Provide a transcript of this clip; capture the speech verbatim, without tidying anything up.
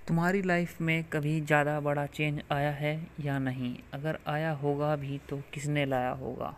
तुम्हारी लाइफ में कभी ज़्यादा बड़ा चेंज आया है या नहीं? अगर आया होगा भी तो किसने लाया होगा?